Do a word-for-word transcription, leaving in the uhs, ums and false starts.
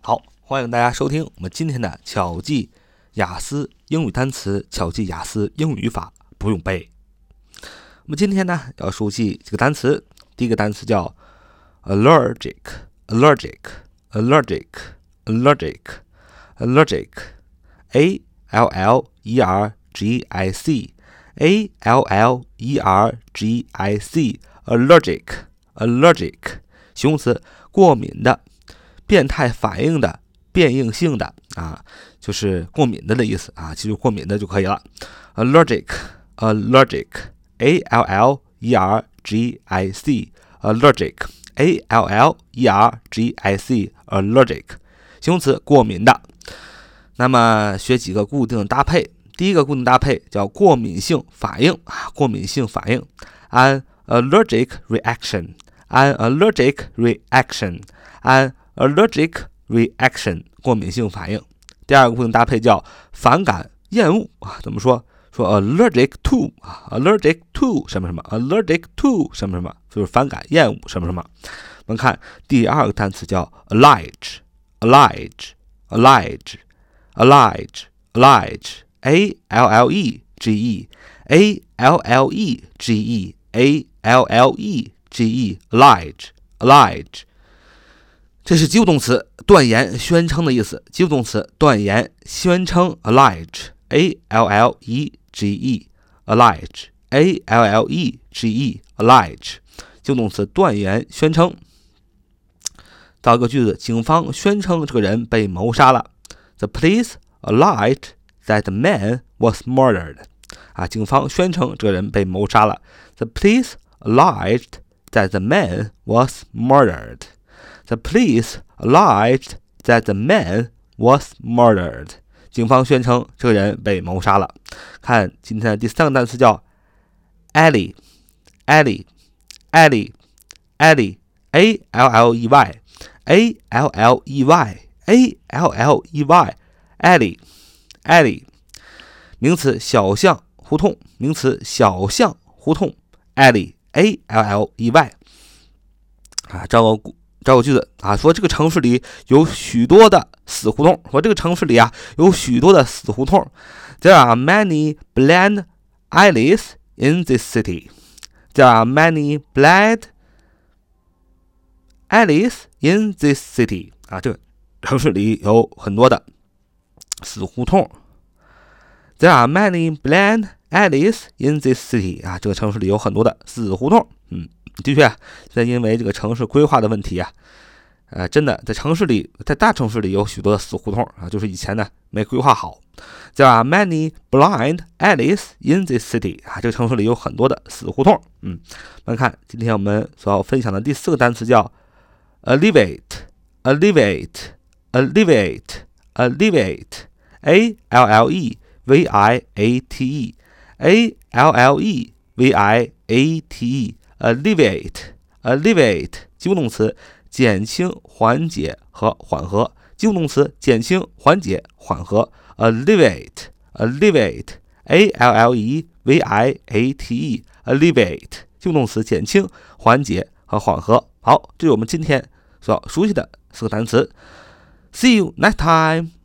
好，欢迎大家收听我们今天的巧记雅思英语单词、巧记雅思英语语法不用背。我们今天呢要熟悉这个单词，第一个单词叫 allergic allergic allergic allergic allergic a l l e r g i c a l l e r g i c allergic allergic 形容词，过敏的、变态反应的、变应性的啊，就是过敏的的意思啊，记住过敏的就可以了。allergic allergic a l l e r g i c allergic a l l e r g i c allergic 形容词，过敏的。那么学几个固定的搭配，第一个固定搭配叫过敏性反应啊，过敏性反应 an allergic reaction an allergic reaction an allergic reaction 过敏性反应。第二个固定搭配叫反感厌恶啊，怎么说？说 allergic to 啊 allergic to 什么什么 allergic to 什么什么，就是反感厌恶什么什么。我们看第二个单词叫 allerge allerge allerge allerge allerge a l l e g e a l l e g e a l l e g e allerge allerge 这是及物动词，断言宣称的意思。及物动词断言宣称 allege a l l e g e allege a l l e g e allege 及物动词断言宣称。造一个句子，警方宣称这个人被谋杀了。The police alleged that the man was murdered 啊，警方宣称这个人被谋杀了。The police alleged that the man was murdered The police alleged that the man was murdered 警方宣称这个人被谋杀了。看今天的第三个单词叫 alley alley alley alley a l l e y a l l e y a l l e y alley alley 名词小巷胡同，名词小巷胡同 alley a l l e y 啊，找个找个句子啊，说这个城市里有许多的死胡同。说这个城市里啊有许多的死胡同。There are many blind alleys in this city. There are many blind alleys in this city. 啊，这个城市里有很多的死胡同。There are many blind alleys in this city. 啊，这个城市里有很多的死胡同。嗯。的确，现在因为这个城市规划的问题啊，呃，真的在城市里，在大城市里有许多的死胡同啊，就是以前呢没规划好。There are many blind alleys in this city 啊，这个城市里有很多的死胡同。嗯，我们看今天我们所要分享的第四个单词叫 alleviate alleviate alleviate alleviate a l l e v i a t e a l l e v i a t e alleviate alleviate 及物动词减轻、缓解和缓和。及物动词减轻、缓解、缓和 alleviate alleviate a l l e v i a t e alleviate 及物动词减轻、缓解和缓和。好，这是我们今天所熟悉的四个单词。See you next time.